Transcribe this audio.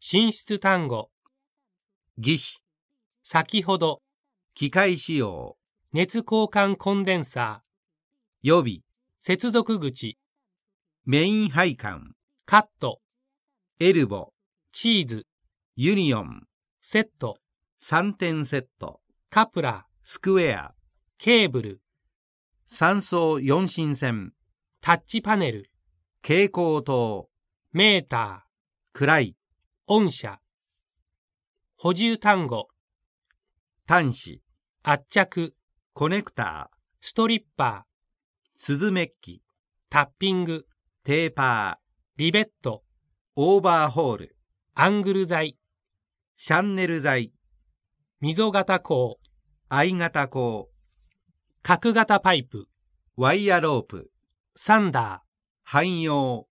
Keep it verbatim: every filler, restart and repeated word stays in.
進出単語、 義肢、 先ほど、 機械使用、 熱交換コンデンサー、 予備、 接続口、 メイン配管、 カット、 エルボ、 チーズ、 ユニオン、 セット、 さんてんセット、 カプラー、 スクエア、 ケーブル、 三層四針線、 タッチパネル、 蛍光灯、 メーター、 暗い、 音車、補充単語、 端子、 圧着、 コネクター、 ストリッパー、 スズメッキ、 タッピング、 テーパー、 リベット、 オーバーホール、 アングル材、 シャンネル材、 溝型鋼、 I 型鋼、 角型パイプ、 ワイヤロープ、 サンダー、 汎用、